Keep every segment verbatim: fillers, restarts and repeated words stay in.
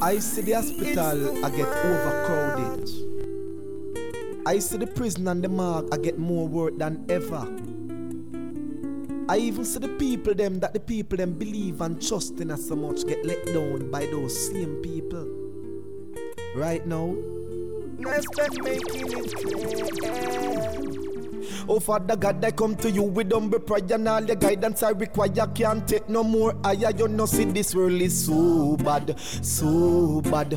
I see the hospital, I get overcrowded. I see the prison and the morgue, I get more work than ever. I even see the people them that the people them believe and trust in us so much get let down by those same people. Right now, let's start making it clear. Oh Father God, I come to you with humble prayer and all the guidance I require. Can't take no more higher. You know see this world is so bad, so bad,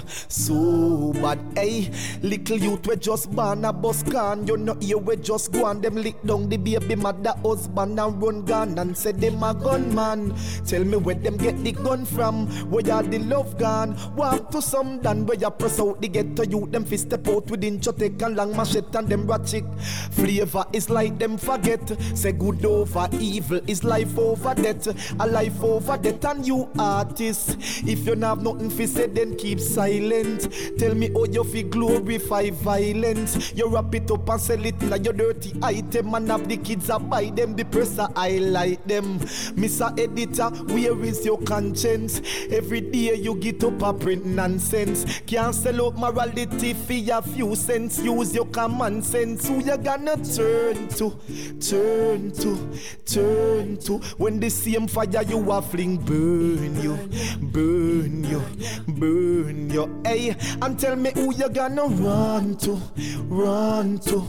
so bad. Hey, little youth we just born a bus can. You know here we just go and them lick down the baby mother husband and run gun and say them a gunman. Tell me where them get the gun from, where are the love gone? Walk to some done where you press out the ghetto youth. Them fist step out within chotek and long machete and them ratchet. Flavor is like them forget. Say good over evil is life over death. A life over death and you artist. If you have nothing to say then keep silent. Tell me how you feel glorify violence. You wrap it up and sell it in your dirty item. And have the kids a buy them, the press a highlight them. Mister Editor, where is your conscience? Every day you get up a print nonsense. Can't sell out morality for a few cents. Use your common sense. Who you gonna turn to, turn to, turn to? When the same fire you are fling burn you, burn you, burn you. Hey, and tell me who you gonna run to, run to,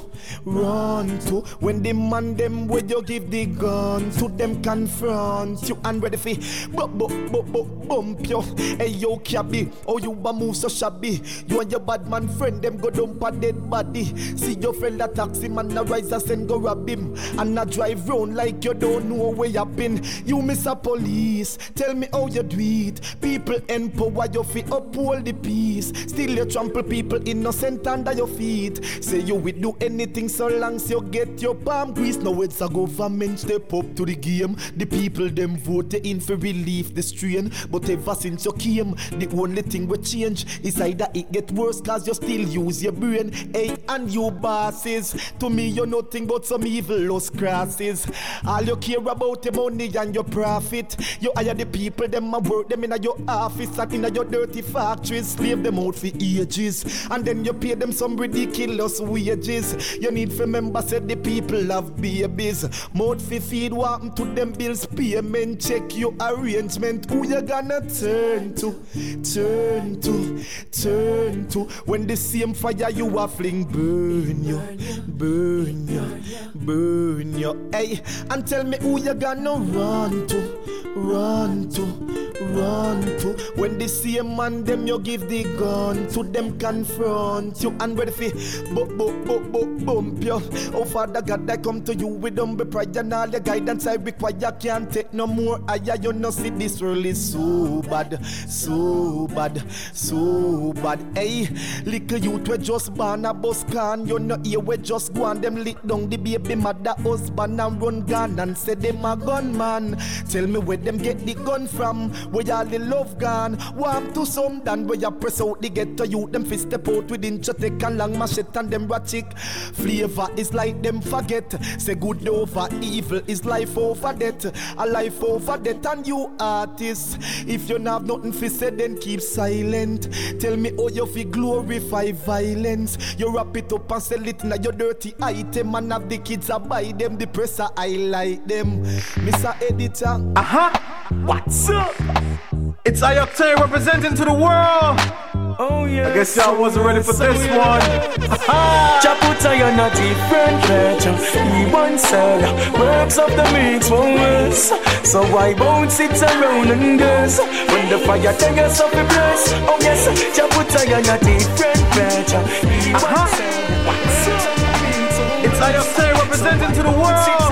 run to? When the man them where you give the gun to them confront you and ready for bump, bump, bump, bump, bump you. Hey yo cabby, oh you a move so shabby. You and your bad man friend them go dump a dead body. See your friend a taxi man a rise a send go rob him and a drive round like you don't know where you been. You miss a police, tell me how you do it. People empower you fi uphold the peace. Still you trample people innocent under your feet. Say you will do anything so long as you get your palm grease. Now it's a government step up to the game. The people them vote in for relief the strain. But ever since you came, the only thing we change is either it get worse cause you still use your brain. Hey, and you bosses, to me you're nothing but some evil lost crosses. All you care about the money and your profit. You hire the people, them a work them in your office and in your dirty factories. Slave them out for ages and then you pay them some ridiculous wages. You need to remember said the people have babies. Mouth fi feed what happen to them bills payment. Check your arrangement. Who you gonna turn to, turn to, turn to? When the same fire you are fling burn you, burn you, burn you. Hey, and tell me who you gonna run to, run to, run to? When the same man them you give the gun to them confront you and ready fi bump, bump, bump, bump, bump you. Oh Father God, I come to you with humble prayer and all the guidance I require. Can't take no more higher. You know see this world is so bad, so bad, so bad. Hey, little youth we just born a bus can. You know here we just go and them lick down the baby mother husband and run gun and say them a gunman. Tell me where them get the gun from, where all the love gone. Warm to some done where you press out the ghetto youth. Them fist step out within chotek and long machete and them ratchet. Flavor is like them forget. Say good over evil is life over death. A life over death and you artists. If you have nothing to say then keep silent. Tell me how you feel glorify violence. You wrap it up and sell it in your dirty item and have the kids a buy them, the press a highlight them. Mister Editor. Uh-huh. What's up? It's Ioctane representing to the world. Oh yeah. I guess y'all wasn't ready for this one. Chaputa, you're not different better. He once said works of the mix won't worse. So why won't sit around and guess when the fire take us up the bless? Oh yes, Chaputa, you're not different better. He once said what's up? It's Ioctane representing to the world.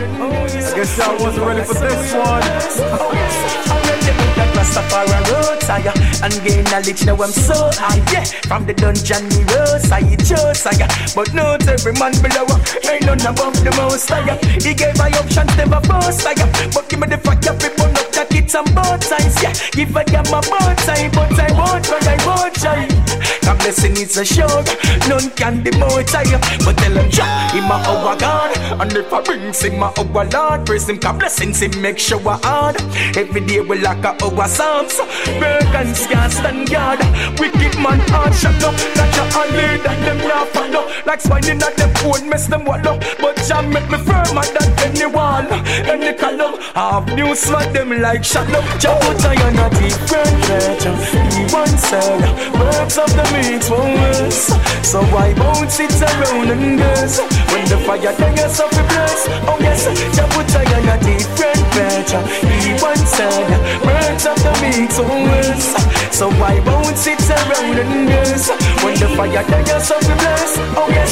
I guess y'all wasn't ready for this one. Oh yes, I'm ready to that Rastafari road tire and gain knowledge. Now I'm so high, yeah. From the dungeon we rose, I chose higher. But not every man below, ain't none above the most higher. He gave my options, never boast higher. But give me the fire, people up that it's on both sides, yeah. Give a damn about time, but I won't run, I won't try. a blessing is a sure. None can demote I, but tell him Jah, him a our God. And if I brings him a our Lord, praise him, cause blessings him make sure hard. Every day we like a our psalms. Burgans can't stand guard. Wicked man hard shut up. That Jah and lead and them not follow. Like swine at them phone mess them wallow. But Jah make me firmer than anyone. Any column have news like them like shadow. Jah put I on a different nature. He once said words of the mix won't worse. So why won't sit around and curse? When the fire dies off the bless. Oh yes, Jah put I on a different nature. He once said words of the mix won't worse. So why won't sit around and curse? When the fire dies off the bless. Oh yes,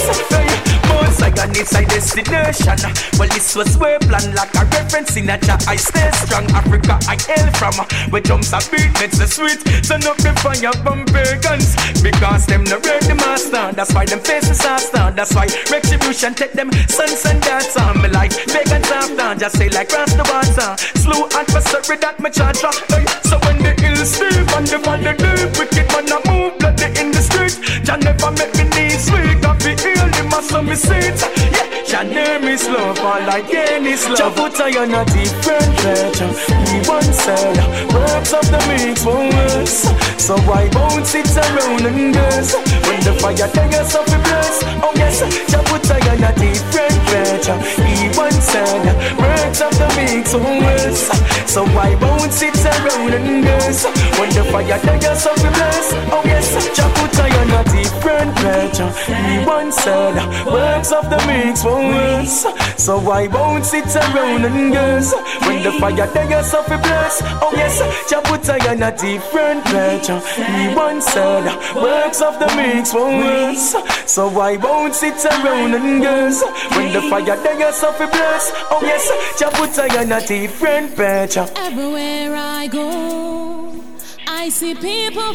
most I got this side destination. Well this was way planned like a reference in a Jah. I stay strong, Africa I hail from. Where drums are beat, makes the sweet. Turn up the fire from pagans. Because them no read the master. That's why them faces are star. That's why retribution take them sons and daughters on me like pagans after. Just say like cross the water. Slow adversary that me charge up. So when the hills steep and the valley deep, wicked man a move bloody in the street. Jah never make me knees weak. I feel heal him as some seat. Yeah, Jah name is love, all like any love. Jah put I on a different nature. He once said words of the mix won't worse. So why won't sit around and curse? When the fire dies off the bless. Oh yes, Jah put I on a different nature. He once said words of the mix won't worse. So why won't sit around and curse? When the fire dies off the bless. Oh yes, Jah put I on a different nature. He once said words of the mix won't worse. So why won't sit around and curse? When the fire dies off the bless. Oh yes, Jah put I on a different nature. He once said works of the mix won't worse. So why won't sit around and curse? When the fire dies off the bless. Oh yes, Jah put I on a different nature. Everywhere I go, I see people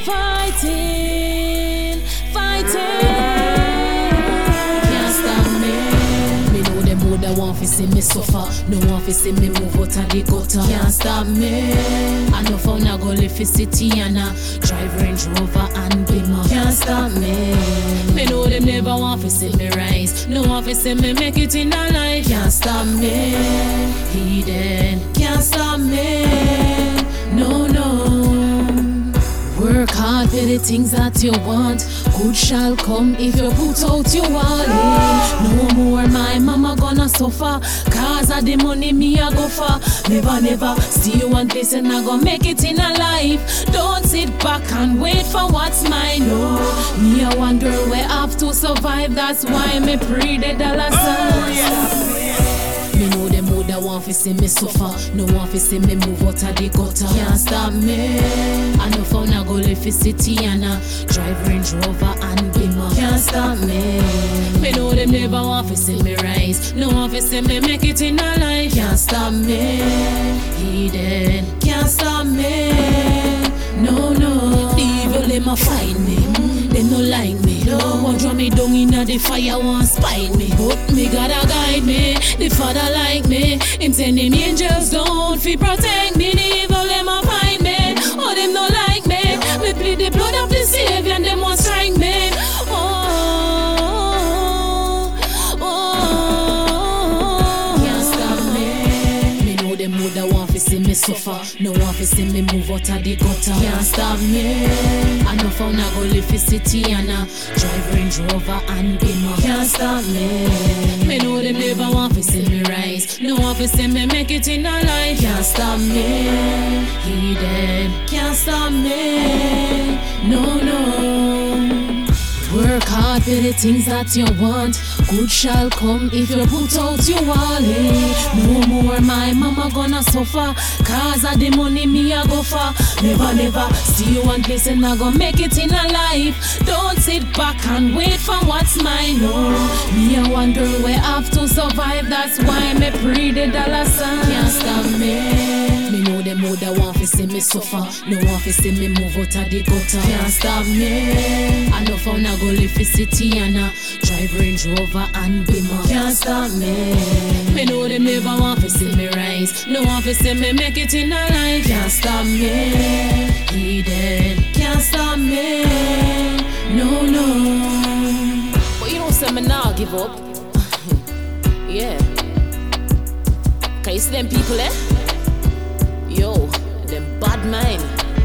fighting, fighting. Can't stop me. Me know them who that want to see me suffer. No want to see me move out of the gutter. Can't stop me. I know for now go live in city and I drive Range Rover and Beamer. Can't stop me. Me know them never want to see me rise. No want to see me make it in a life. Can't stop me. He dead. Can't stop me. No, no. Work hard for the things that you want. Good shall come if you put out your wallet. No more my mama gonna suffer. Cause of the money me a go for. Never, never see one place and I gonna make it in a life. Don't sit back and wait for what's mine. No, me a one girl we have to survive. That's why me pray the dollar signs. Me know them who that want to see me suffer. No want to see me move out of the gutter. Can't stop me. I know for now go live in city and I drive Range Rover and Beamer. Can't stop me. Me know them never want to see me rise. No want to see me make it in a life. Can't stop me. He dead. Can't stop me. No, no. Evil them a fight me. They no like me. No one draw me down in the fire, want spite me. But me gotta guide me. The Father like me. Him send him angels down fi protect me. The evil them a find me. Oh them no like me. Me plead the blood of the Savior and them want strike me. Oh, oh, oh. Can't stop me. Me know them who that want to see me suffer. No want to see me move out of the gutter. Can't stop me. I know for now go live in city and I drive Range Rover and Beamer. Can't stop me. Me know them never want to see me rise. No want to see me make it in a life. Can't stop me. He dead. Can't stop me. No, no. Work hard for the things that you want. Good shall come if you put out your wallet. No more my mama gonna suffer. Cause of the money me a go for. Never, never see you one place and I gonna make it in a life. Don't sit back and wait for what's mine. No, me a one girl we have to survive. That's why me pray the dollar sign. Can't stop me. Me know them who that want to see me suffer. No want to see me move out of the gutter. Can't stop me. I know for now go live in city and I drive Range Rover and Beamer. Can't stop me. Me know them never want to see me rise. No want to see me make it in a life. Can't stop me. He dead. Can't stop me. No, give up. Yeah. Can you see them people, eh? Yo, them bad mind.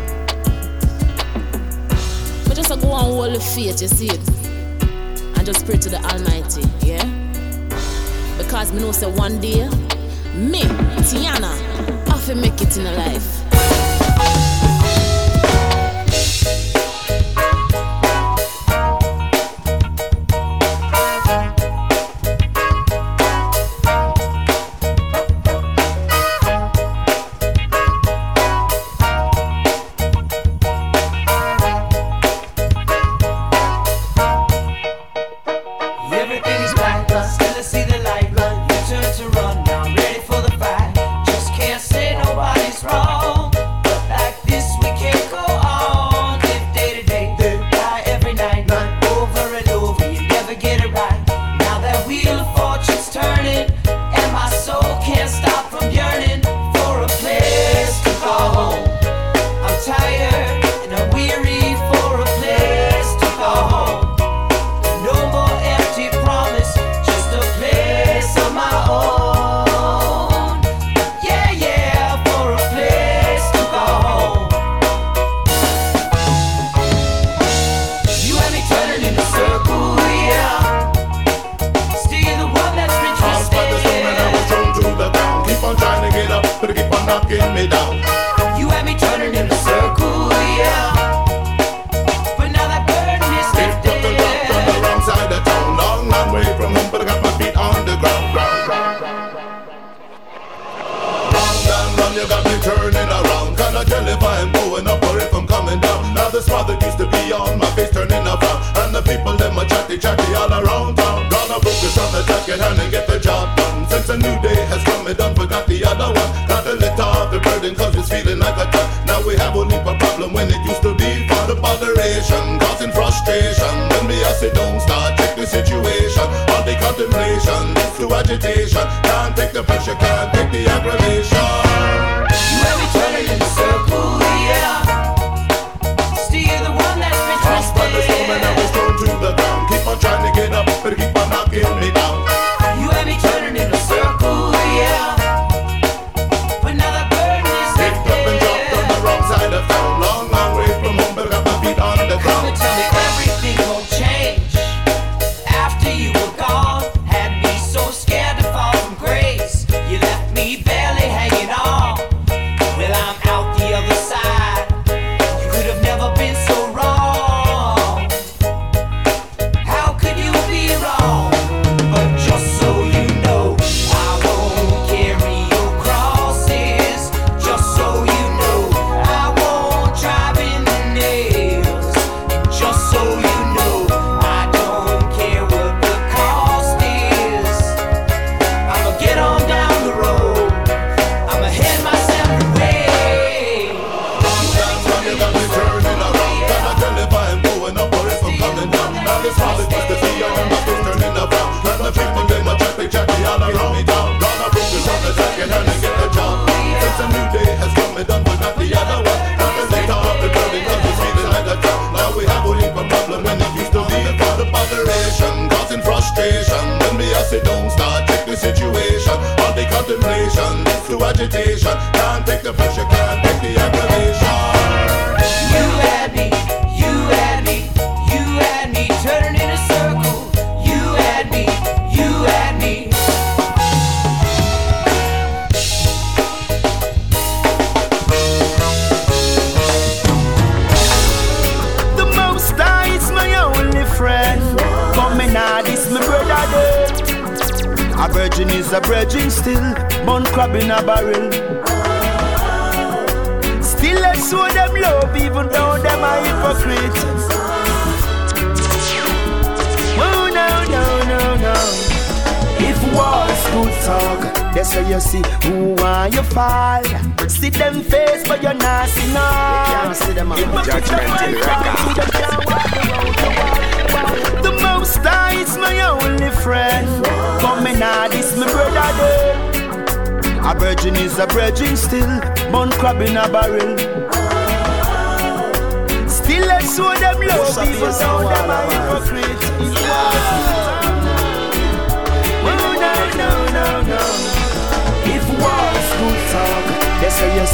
But just go and hold the faith, you see it? And just pray to the Almighty, yeah? Because me know say one day, me, Tiana, I have to make it in a life.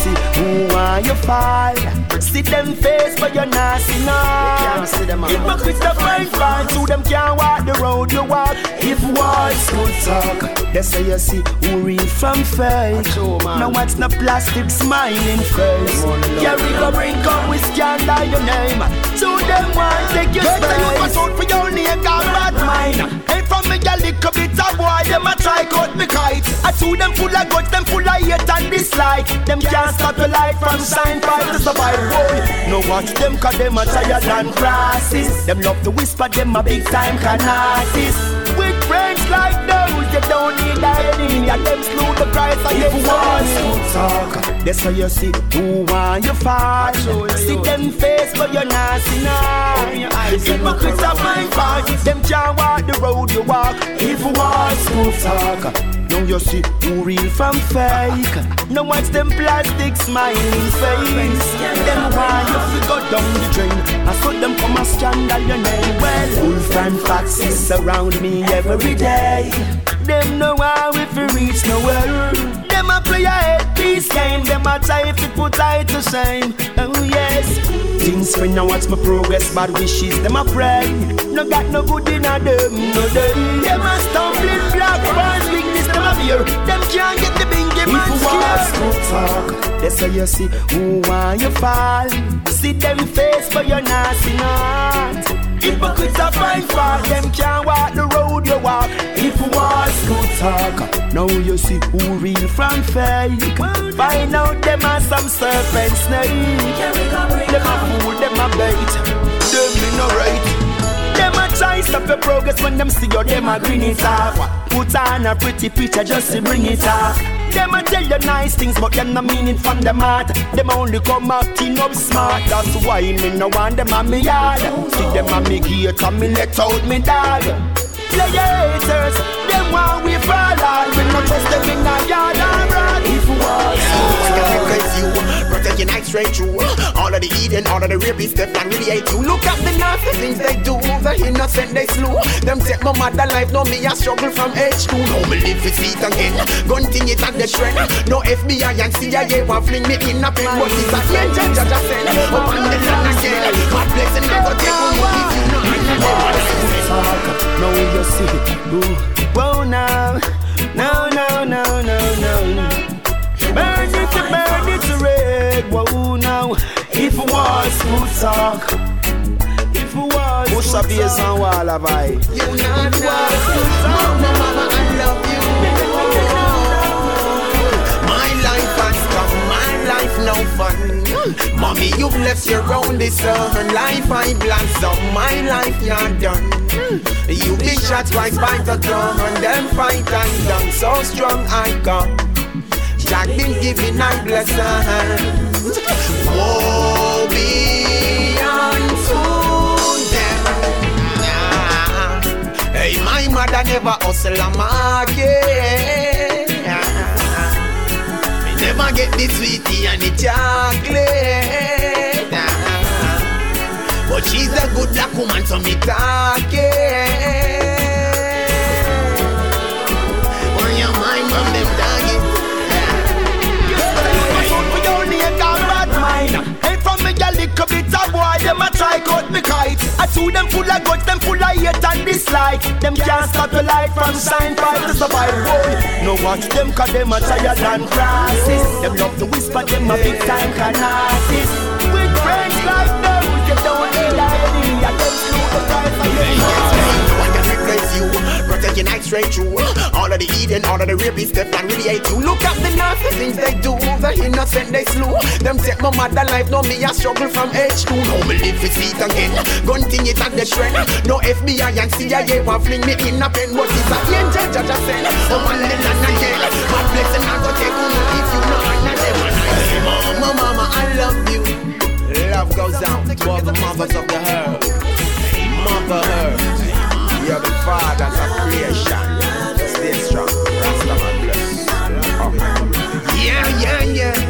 see who want you fall. See them face but you're not see now. Hypocrites a fine fine, to them can't walk the road you walk. If words could talk, that's how you see who real from fake. Now what's the plastic smiling face? Yeah, we go bring up with scandal your name. To them want take your space. You pass out for your name, got bad mind. Hey, from me a little bit of boy, them a try cut me kite. I to them full of guts, them full of hate and dislike. Them can't stop the light from shine fight to survive. Boy, no watch them cause them a tired than crosses. Them love to whisper, them a big time canasis. With friends like those, you don't need a enemy. And them slew the price of your words to talk. That's how you see who want you fall. See them face but you're not see now. Hypocrites are my fault. Them can't walk the road you walk. If words to talk, now you see who real from fake. Now watch them plastic smiling face. Them want you to go down the drain. I saw them come a scandal your name. Well, wolf and foxes surround me every day. Them know how if we reach nowhere. Them a play a head peace game. Them a try if it put I to shame. Oh yes. Things when I watch my progress, bad wishes them a pray. No got no good in a them, no day. Them a stumbling black bars, weakness them a fear. Them can't get the bingy man scared. If talk, that's how you see who want you fall. See them face but you're not see not. Hypocrites are fine fault, them can't walk the road you walk. If words could talk, now you see who real from fake. Find out them are some serpent snake. Them a fool, them a bait, them in no right. Them a try stop your progress when them see you, them a grin it off. Put on a pretty picture just to bring it off. Them a tell you nice things, but them no mean it from the heart. Them only come acting up smart. That's why me no want them on me yard. See them on me gate and me let out me dog. Play haters, them want we fall all. We no trust them in a yard or broad. If was you, protect your night straight through. All of the Eden, all of the rapists, they not really hate you. Look at the nasty things they do, the innocent they slew. Them take my mother life, no me a struggle from age two. No me live with feet again, gun thing it at the trend. No F B I and C I A will fling me in a pen. What is that angel judge I send? Up on the land again, God bless and I go take on you if you know I know. Now you see, ooh, whoa now, no, no, no, no, no. Burn it to burn it to red, whoa now. If was who talk, if was who Push a bass and wall of I. You not was mama, mama, I love you. My life has come, my life no fun. Mommy, you've left your only son. Life I blossom, my life you're done. You've been shot twice by the gun, and then fight and done. So strong I come. Jack been giving I blessings. Woe be unto them. Yeah. Hey, my mother never hustle a market. Me never get the sweetie and the chocolate. But she's a good black woman, so me talk it. Why am I from them doggy? Hey, from me a little bit of boy, them a try cut me kite. I to them full of guts, them full of hate and dislike. Them can't stop the light from shine fight to survive. Boy, no watch them cause them a tired than crosses. Them love to whisper, them a big time canasis. With friends like those, you don't need a enemy. And them slew the price of your you, protect your night straight through. All of the Eden, all of the rapists, they not really hate you. Look at the nasty things they do, the innocent they slew. Them take my mother life, no me a struggle from age two. No me live with feet again, gun thing it at the trend. No F B I and C I A will fling me in a pen. What is that angel judge I send? Oh man, the land again. My blessing I go take on you if you know I'm not them. Mama, mama, I love you. Love goes out to all the mothers of the herd. Mother herd. You're the fathers of creation. Stay strong. Rastaman bless. Oh. Yeah, yeah, yeah.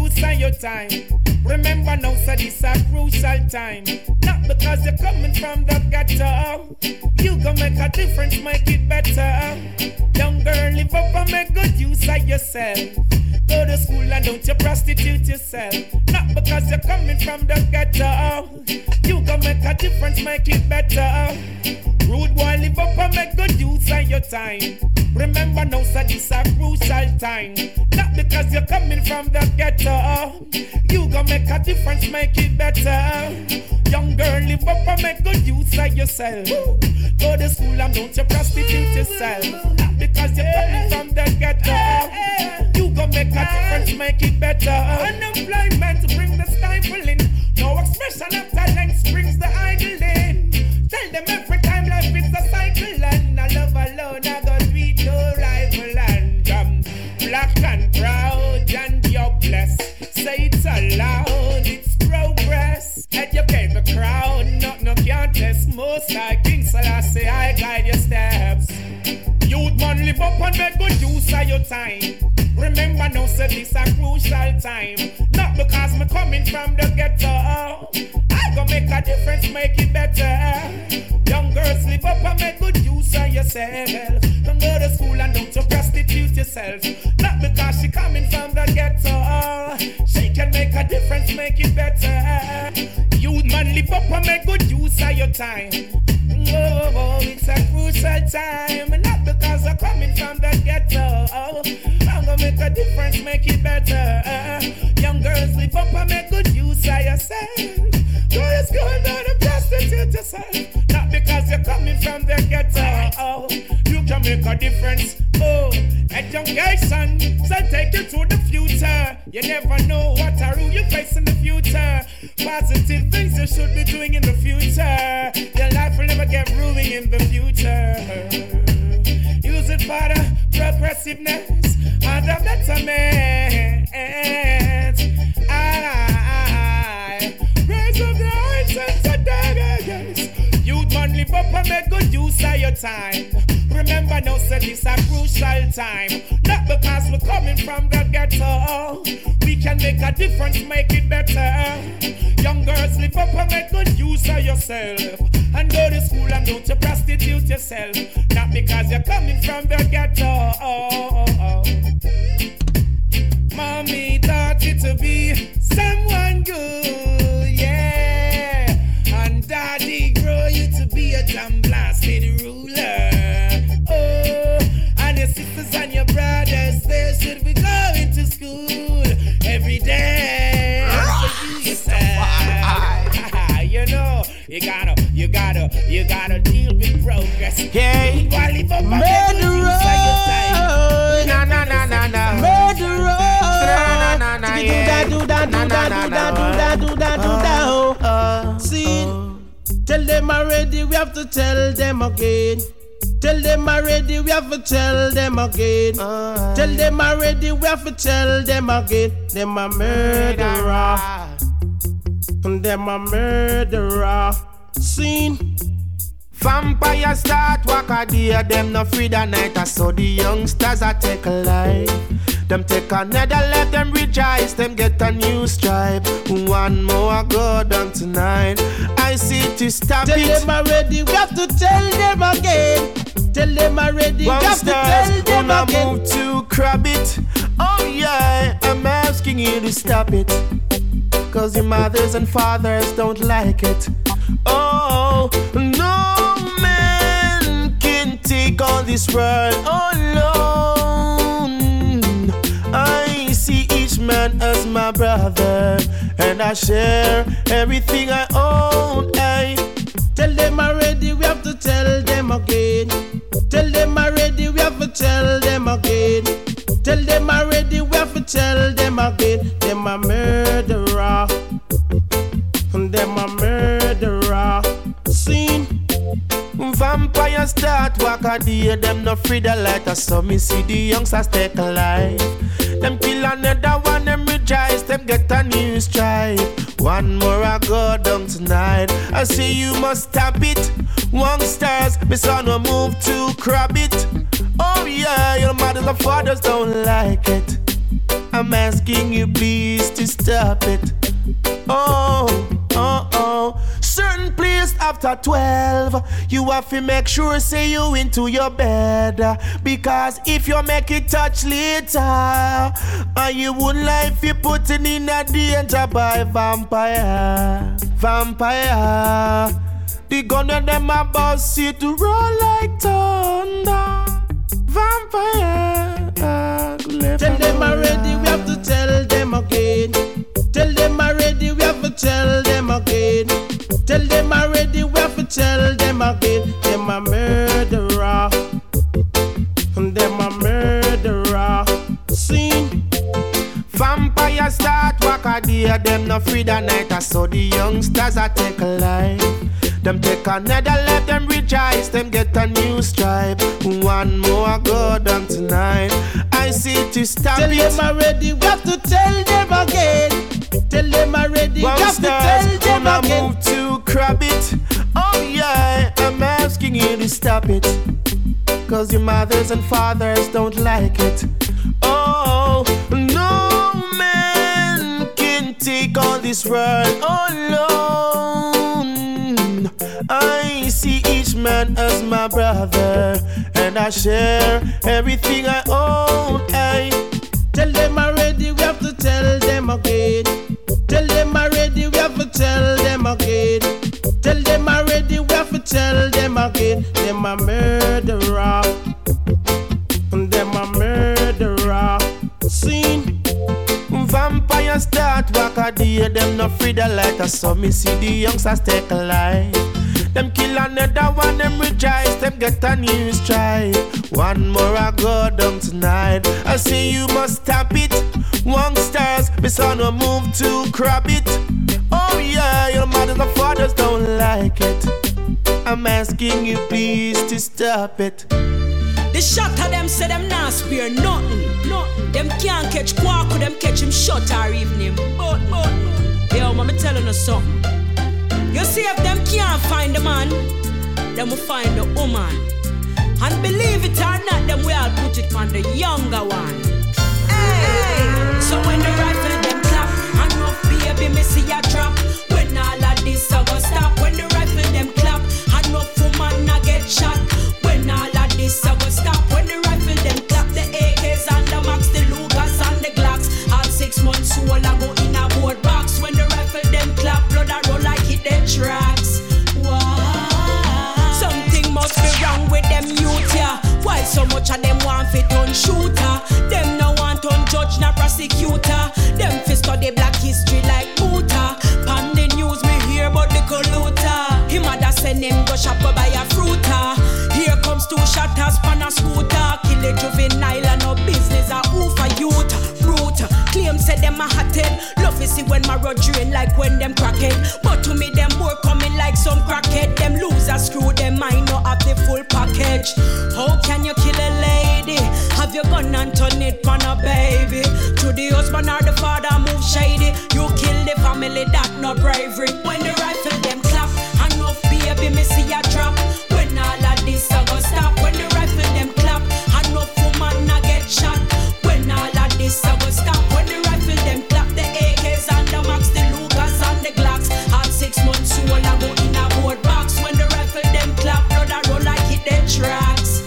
use of your time. Remember now, so this a crucial time. Not because you're coming from the ghetto. You gon' make a difference, make it better. Young girl, live up and make good use of yourself. Go to school and don't you prostitute yourself. Not because you're coming from the ghetto. You gon' make a difference, make it better. Rude boy, live up and make good use of your time. Remember now, so this a crucial time. Not because you're coming from the ghetto. You gon' make a difference, make it better. Young girl, live up and make good use of yourself. Go to school and don't you prostitute yourself. Not because you're coming from the ghetto. You gon' make a difference, make it better. Unemployment bring the stifling. No expression of talent brings the idling. Tell them every time life is a cycle and I love alone, I got sweet no rival and um, black and proud and you're blessed. Say it's allowed, it's progress. Educate the crowd, not no contest. Most like King Selassie, I guide your steps. Youth man, live up and make good use of your time. Remember now, say this a crucial time. Not because me coming from the ghetto. I gon' make a difference, make it better. Young girls, live up and make good use of yourself. Don't go to school and don't you prostitute yourself. Not because she coming from the ghetto. She can make a difference, make it better. Youth man, live up and make good use of your time. Oh, oh, it's a crucial time. Not because I'm coming from the ghetto. I'm gonna make a difference, make it better. Young girls, live up and make good use of yourself. Go to school and don't prostitute yourself. Not because you're coming from the ghetto. You can make a difference. Oh, education, so take you to the future. You never know what a rule you face in the future. Positive things you should be doing in the future. Your life will never get ruined in the future. Use it for the progressiveness and the betterment. I raise up the hearts and the daggers. Youth man, live up and make good use of your time. Remember now, say this a crucial time. Not because we're coming from the ghetto. We can make a difference, make it better. Young girls, live up and make good use of yourself. And go to school and don't you prostitute yourself. Not because you're coming from the ghetto. Oh, oh, oh. Mommy taught you to be someone good, yeah. And daddy grow you to be a damn blasted ruler. Oh, and your sisters and your brothers, they should be going to school every day. And you yourself, you know, you gotta, you gotta, you gotta deal with progress. Hey, murderer, na na na na na, murderer, na na na yeah, do da do da do da do da do da do da do da. See, tell them already, we have to tell them again. Tell them already, we have to tell them again. Uh, tell them already, we have to tell them again. Them a murderer. Them a murderer. Seen. Vampire start walk a day, them no free the night. I saw the youngsters a take a life. Them take another life, them rejoice, them get a new stripe. One more go down tonight. I see to stop tell it. Tell them already, we have to tell them again. Tell them already, we have to tell them again. Move to crab it. Oh yeah, I'm asking you to stop it. Cause your mothers and fathers don't like it. Oh, no man can take all this world alone. I see each man as my brother, and I share everything I own. I tell them already, we have to tell them again. Tell them already, we have to tell them again. Tell them already, we have to tell them again. Them a murderer. Them a murderer. Seen. Vampire start walk a day. Them no free the light. I saw me see the youngsters take a life. Them kill another one, them rejoice. Them get a new stripe. One more I go down tonight. I say you must stop it. One stars, my son will move to crab it. Oh yeah, your mothers and fathers don't like it. I'm asking you please to stop it. Oh, oh, oh. Certain place after twelve, you have to make sure say you into your bed. Because if you make it touch later, and you would life you putting in a danger by vampire. Vampire. The gun of them a boss you to roll like thunder. Vampire. Tell them already, we have to tell them again. Tell them already, we have to tell them again. Tell them already, we have to tell them again. Them a murderer. Them a murderer. See? Vampire start walk a day, them no free the night. I saw the youngsters a take a life. Them take another life, them rejoice, them get a new stripe. One more go down tonight. I see to stop tell it. Tell them already, we have to tell them again. Tell them already, we have to tell them gonna again. Move to grab it. Oh yeah, I'm asking you to stop it. Cause your mothers and fathers don't like it. Oh, no man can take all this world alone. I see each man as my brother, and I share everything I own. I tell them already, we have to tell them again. Tell them already, we have to tell them again. Tell them already, we have to tell them again. Them a murderer. Them a murderer. Seen. Vampires start walk a day, them no free the light. I saw me see the youngsters take a life. Them kill another one, them rejoice, them get a new stripe. One more I go down tonight. I say you must stop it. One stars, my son will move to grab it. Oh yeah, your mothers and fathers don't like it. I'm asking you please to stop it. The shot of them say them not spare nothing. Nothing. Them can't catch Quark, them catch him shot or even him. But, but, yo, mama telling us something. You see if them can't find the man, them will find the woman. And believe it or not, them we all put it on the younger one. Hey, so when the rifle them clap, and rough baby me see a drop. When all of this I go stop. When the rifle them clap, and rough woman I get shot. When all of this I go stop. When the rifle them clap, the A Ks and the Max, the Lucas and the Glocks. All six months old I go in a board box. When the rifle them clap, blood I roll like it them tracks. Wow. Something must be wrong with them youth, yeah. Why so much of them want fit on shooter? Them no want on judge na prosecutor. Them fi study black history like Buddha. Pan the news me hear about the colluder. Him mother send him go shop go buy a fruiter. Here comes two shotters pan a scooter. Kill a juvenile and no business a who for youth. Brute claim said them a hotted. Love is see when my road drain like when them crackhead. But to me them boy coming like some crackhead. Them losers screw them mind no have the full package. How can you kill a lady? Have your gun and turn it on a baby? To the husband or the father move shady. You kill the family, that no bravery. When the rifle them clap, and rough baby me see a drop. When all of this I go stop. When the rifle them clap, and rough woman I get shot. When all of this I go stop. When the rifle them clap, the A Ks and the Max, the Lucas and the Glocks. All six months old I go in a board box. When the rifle them clap, blood I roll like it them tracks.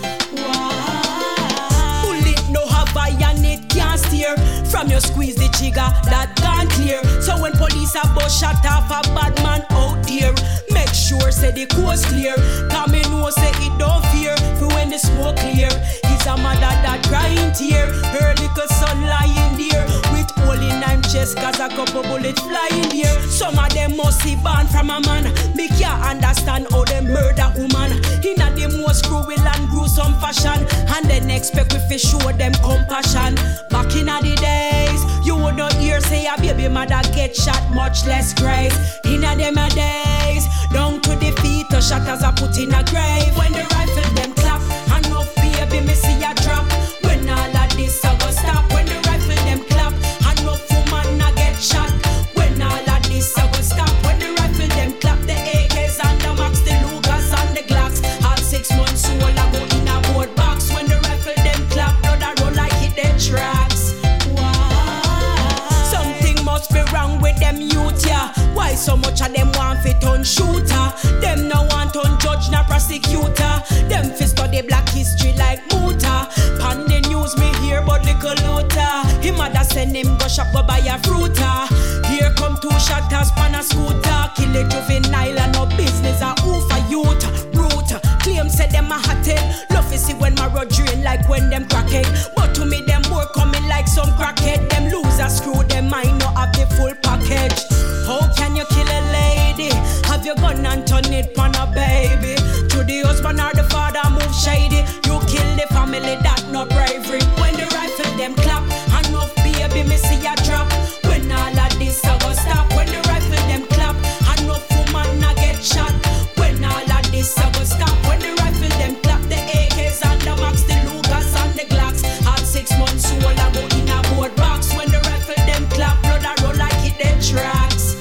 Wow. Bullet no have I and it can't steer. From your squeeze the trigger, that gone clear. So when police have bust shot off a bad man out there, make sure say the coast clear. Come in know say it don't fear. For when the smoke clear, he's a mother that crying tear. Her little son lying there with hole in him chest, cause a couple bullets flying here. Some of them must be born from a man. Me can't understand how them murder woman in a the most cruel and gruesome fashion. And then expect we fi show them compassion. Back in a the days, you would not hear say a baby mother get shot, much less grace. In a them a days, down to the feet, the shatters are put in a grave. When the rifle them clap, and no baby me see a drop. When all of this I go stop. When the rifle them clap, and no woman I get shot. When all of this I go stop. When the rifle them clap, the A Ks and the Max, the Lucas and the Glocks. All six months old I go in a board box. When the rifle them clap, blood I roll like it them tracks. Wow. fire fruiter. Here come two shotters pan a scooter. Kill a juvenile and no business a oof a youth. Root, claim say them a hot head. Love to see when my road drain like when them crackhead. But to me them more coming like some crackhead. Them loser screw them mind not have the full package. How can you kill a lady? Have your gun and turn it on a baby? To the husband or the father move shady. You kill the family, that not bravery. When the rifle them clap, enough baby me see a drop. When all of this I go stop. When the rifle them clap, enough woman I get shot. When all of this I go stop. When the rifle them clap, the A Ks and the Max, the Lucas and the Glocks. At six months old I go in a board box. When the rifle them clap, blood I roll like it them tracks.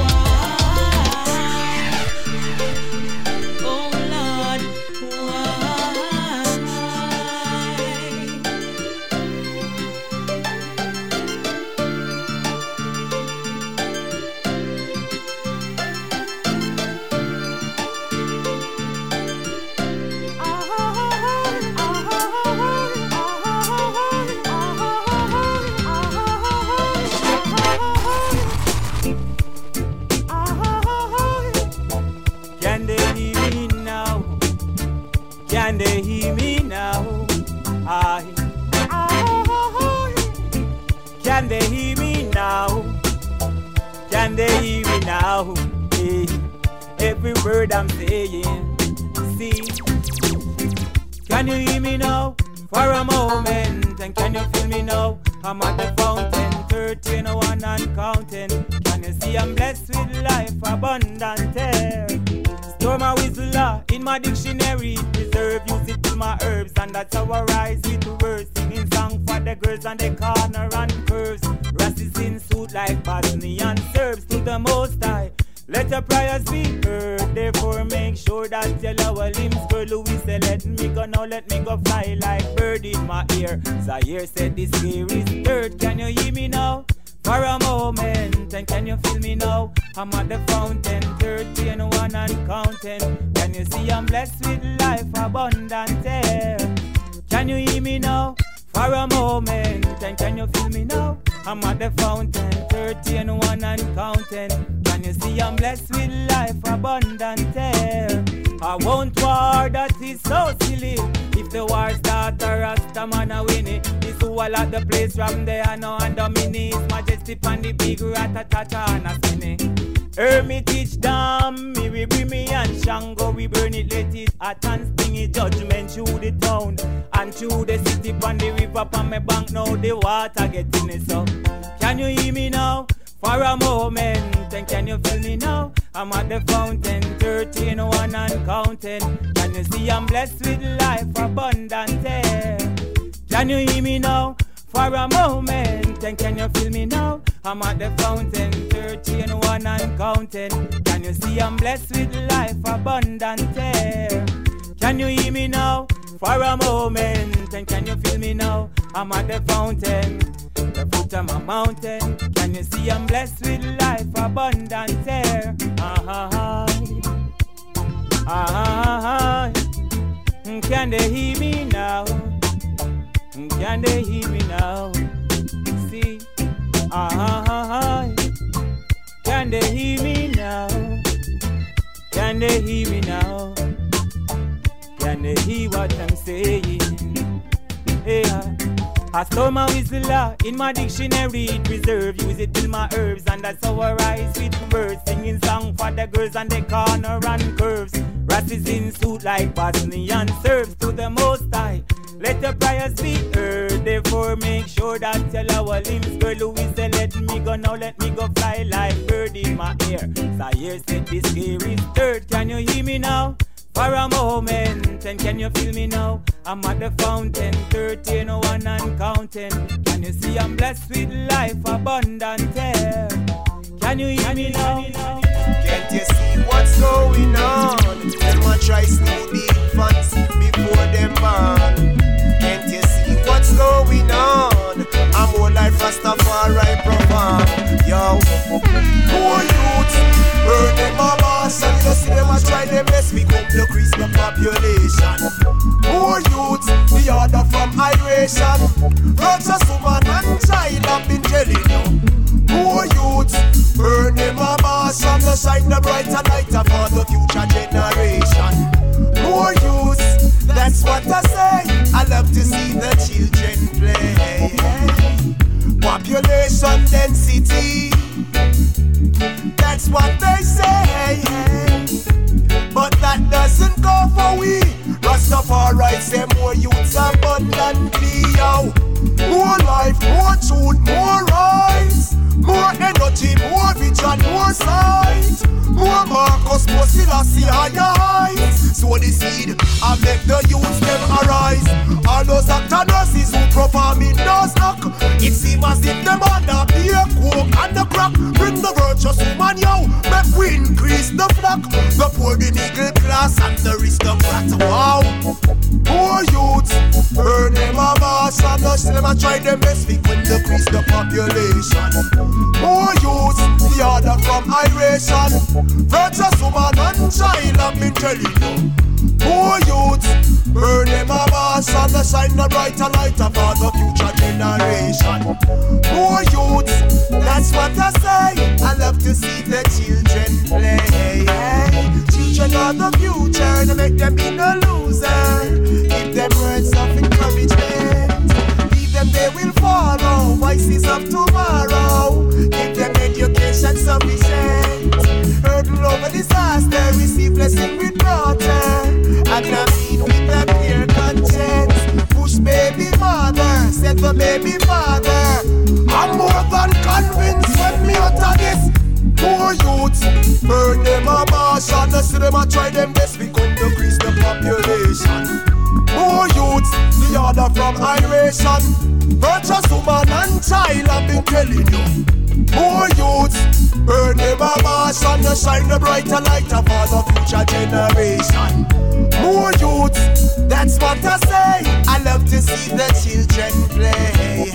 Can they hear me now? I, can they hear me now? Can they hear me now? Hey, every word I'm saying. See, can you hear me now? For a moment, and can you feel me now? I'm at the fountain, thirteen, one and counting. Can you see I'm blessed with life, abundant air? Store my whistle in my dictionary, preserve, use it to my herbs, and that's how I rise with the words. Singing song for the girls on the corner and curves. Rasses in suit like Bosnian Serbs to the Most High. Let your prayers be heard, therefore make sure that your lower limbs curl. Louis said, let me go now, let me go fly like bird in my ear. Zaire said, this gear is dirt. Can you hear me now? For a moment, and can you feel me now? I'm at the fountain, thirteen, one and counting. Can you see I'm blessed with life, abundant air? Can you hear me now? For a moment, and can you feel me now? I'm at the fountain, thirteen, one and counting. Can you see I'm blessed with life, abundant air? I won't war, that is so silly. If the war start, a Rasta man a win it. This who all at the place from there now and the mini. His Majesty pan the big rat-a-ta-ta and a spinny. Hermitage Dam, me we bring me and Shango, we burn it, let it hot and stingy. Judgment through the town and through the city, pan the river, pan my bank now the water getting it so. Can you hear me now? For a moment, and can you feel me now? I'm at the fountain, thirteen, one and counting. Can you see I'm blessed with life, abundant air? Can you hear me now? For a moment, and can you feel me now? I'm at the fountain, thirteen, one and counting. Can you see I'm blessed with life, abundant air? Can you hear me now? For a moment, and can you feel me now? I'm at the fountain, the foot of my mountain. Can you see I'm blessed with life, abundant air? Ah, ah, ah, can they hear me now? Can they hear me now? See, ah, can they hear me now? Can they hear me now? Can they hear what I'm saying? Yeah. I store my whistle in my dictionary, preserve, use it till my herbs, and that's how I rise with words. Singing song for the girls on the corner and curves. Rasses in suit like Bosnian Serbs to the Most High. Let the prayers be heard, therefore make sure that your lower limbs curl. Louis said, let me go now, let me go fly like bird in my ear. Zaire said, this gear is dirt. Can you hear me now? For a moment, and can you feel me now? I'm at the fountain, thirteen, one and counting. Can you see I'm blessed with life, abundant air? Can you hear me now? Can't you see what's going on? Them a try steal the infants before them born. Can't you see what's going on? I'm more like Rastafari perform. Yo, poor youth, burn them a boss, and you see them a try them best we come to increase the population. Poor youth, the order from iration. Righteous woman and child have been telling you. brighter lighter for the future generation. More youth, that's what I say. I love to see the children play. Population density, that's what they say. But that doesn't go for we. Rastafari say more youths abundantly, yo. More life, more truth, more rise. More energy, more vision, more sight. More Marcus, more Selassie, higher heights. So the seed, I make the youths them arise. All those actor nurses who perform in those knock. It seems as if them under beer, coke and the crack. Bring the virtuous woman, yo. Make we increase the flock. The poor, the middle class and the aristocrat. Wow. More youths, burn them a mass. And the them a try them best week when decrease the population. More youths, the order from iration. Virtuous woman and child, I've been telling you. More youths, burn them a mass and the shine the brighter lighter for the future generation. More youths, that's what I say. I love to see the children play. Children are the future, to make them be no loser. Give them words of encouragement. Leave them, they will follow. Voices of tomorrow. Give them education sufficient. Hurdle over disaster, receive blessing with water. And I mean with a clear conscience. Push baby mother, set for baby father. I'm more than convinced when me utter this. More youths, burn them a marsh and the see them a try them best. We come to increase the population. More youths, the order from iration. Virtuous woman and child, I've been telling you. More youths, burn them a marsh and the shine the brighter lighter for the future generation. More youths, that's what I say. I love to see the children play.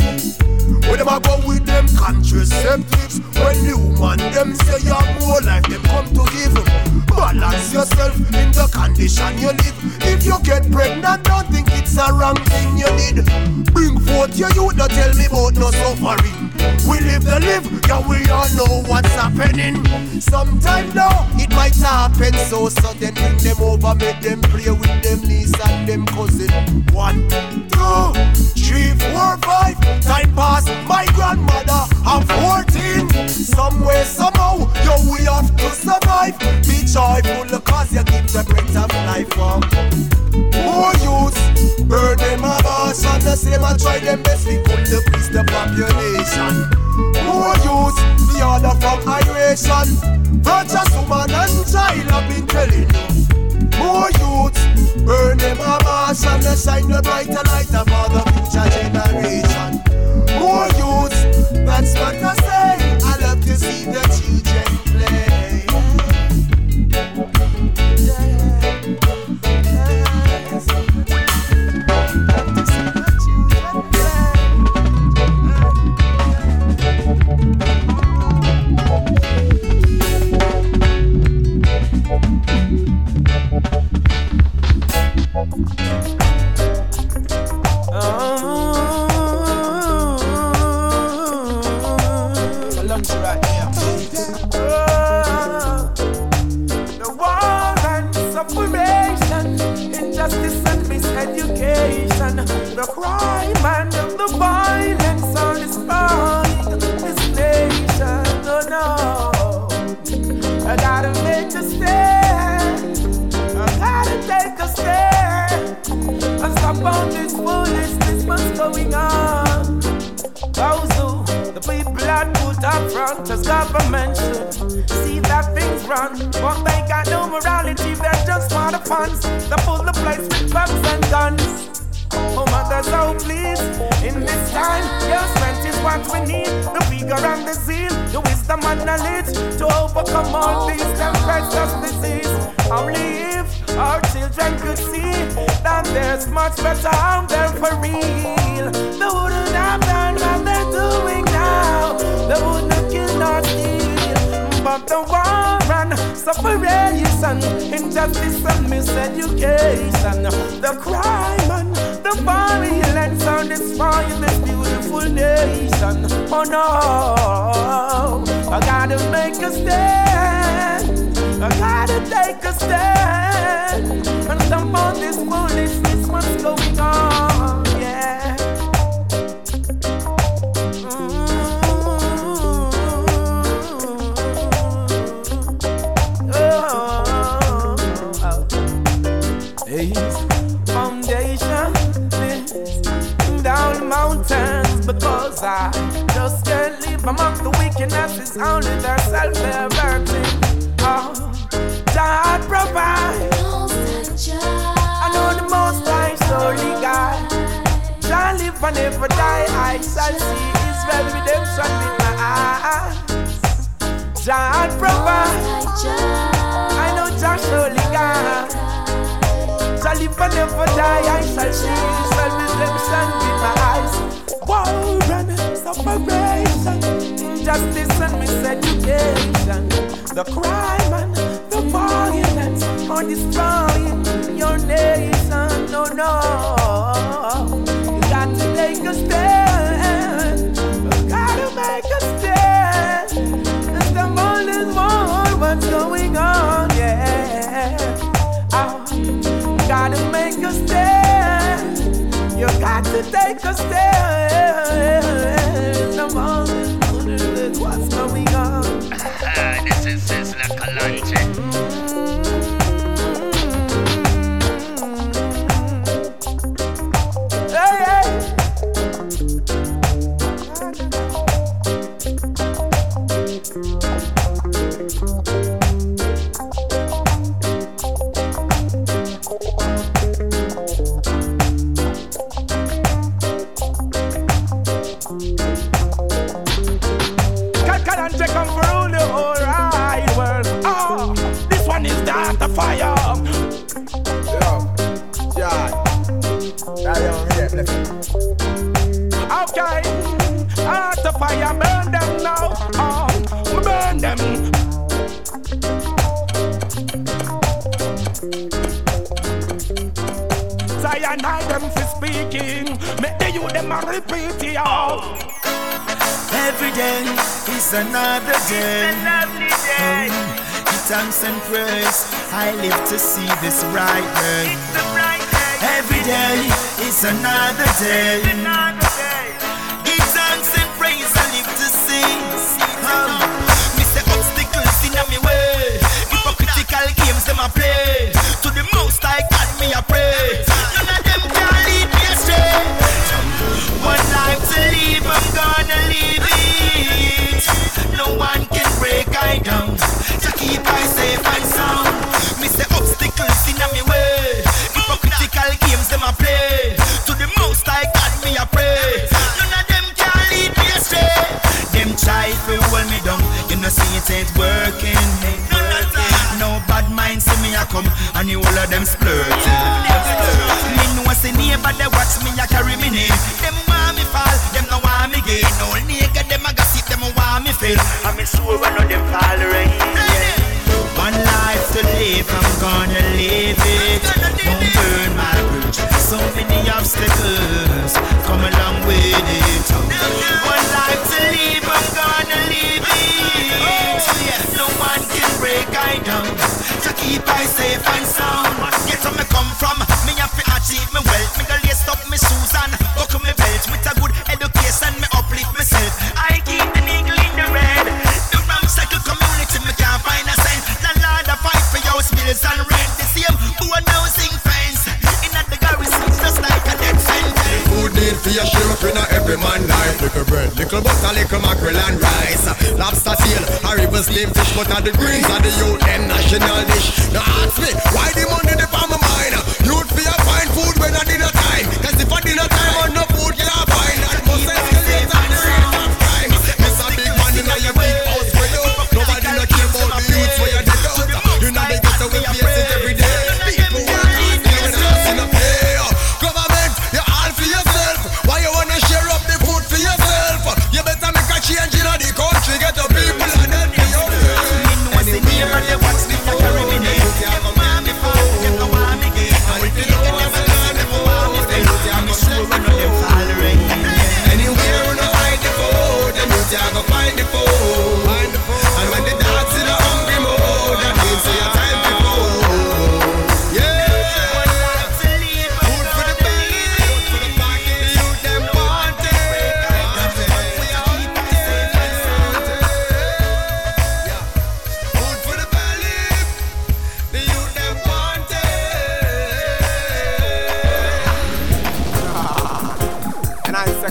When them a go with them contraceptives, when you man them say you have more life, them come to give. Balance yourself in the condition you live. If you get pregnant, don't think it's a wrong thing you did. Bring forth your youth, don't tell me about no suffering. We live the live, yeah, we all know what's happening. Sometime now, it might happen so sudden. Bring them over, make them play with them niece and them cousin. One, two, three, four, five. Time pass, my grandmother I'm fourteen. Somewhere, somehow, yo, we have to survive. Be joyful, cause you give the breath of life up. More youths, burn them a bash and the same and try them best. We could decrease the population. More youths, the order from iration. Virtuous woman and child, I've been telling you. More youths, burn them a bash and the shine the brighter lighter for the future generation. More youths, that's what I say. I love to see the children play. The crime and the violence are destroying this nation. Oh no, I gotta make a stand. I gotta take a stand and stop all this foolishness what's going on. Those who the people are put up front as government should see that things run, but they got no morality. They're just for the funds. They pull the place with pumps and guns. Oh mothers, oh please, in this time, your strength is what we need. The vigor and the zeal, the wisdom and knowledge to overcome all these tempestuous disease. Only if our children could see that there's much better out there for real. They wouldn't have done what they're doing now. They wouldn't have killed or steal. But the war and separation, injustice and miseducation, the crime and the violence are destroying this beautiful nation. Oh no, I gotta make a stand. a stand and stamp on this foolishness. What's going on? Yeah. Foundation down mountains because I just can't live amongst the wickedness. It's only their self-liberty. Oh, God provide. I know the most high surely God shall live and never die. I shall see Israel redemption with my eyes. God provide. I know Jah surely God shall live and never die. I shall see Israel redemption with my eyes. War and separation, injustice and miseducation, the crime and the violence are destroying your nation. No, no, you got to take a stand. You gotta make a stand. And the world is more what's going on, yeah. Oh, gotta make a stand. You got to take a stand. The world is more what's going on. This is Sizzla Kalonji. Hey, hey. Kalonji come for rule the whole wide world. Oh, this one is the heart of fire. Yo, John. Okay, heart of fire, burn them now. Oh, burn them. Cyanide them for speaking. Make the youth them a repeat it out. Every day is another day. It's a lovely day. Oh, give thanks and praise. I live to see this bright day. It's a bright day. Every day is another day. It's another day. Give thanks and praise. I live to see. Oh, Mister Obstacles in my way. Hypocritical games them I play. To the most I got me a pray. None of them can lead me astray. One life to live, I'm gonna live it. No one can break I down. To keep I safe and sound. Mister Obstacles in my way. Hypocritical games them I play. To the most I got me a pray. None of them can lead me astray. Them try to hold me down. You know see it ain't working. No bad mind see me a come and the whole of them splurting. Me know say neighbor they watch me a carry me name. Them want me fall, them no want me gain. No nigga them a gossip, them want me fail. I'm sure one of them fall right. One life to live, I'm gonna live it. Don't burn my bridge. So many obstacles come along with it. One life to live, I'm gonna live it. No one can break I down. To keep I safe and sound. Get where me come from, me have to achieve me wealth. Me go lace up me shoes and buckle me belt. With a good education, me uplift myself. I keep the needle in the red. The ramshackle community, me can't find a cent. Landlord a fight for your bills and rent. The same poor housing fence. In at the garrison, just like a death sentence. Food need for your share up in a every man life. Little bread, little butter, little mackerel and rice. Lobster tail, a river slim fish, but at the greens of the youth, them national dish. Now ask me, why the money dey for my mind? Youth for your fine food when I dinner time. Cause if I dinner time on no food, you can't find. That must escalate at the rate of crime. It's a big man in your big house spread out. Nobody no care about the youths where you dead out. You know they get away face it every day. People work hard, they don't see no pay. Government, you all for yourself. Why you wanna share up the food for yourself? You better make a change in the country. Get the people and then be yourself. Anywhere they watch me, I carry me name. Them no want me fall, them no want me gain. And if you look at them again, them no want me fail. I'm sure one of them fall right. Anywhere you no hide the food, them youth you go find the food. And when the dogs in a hungry mode, that means say your time to food.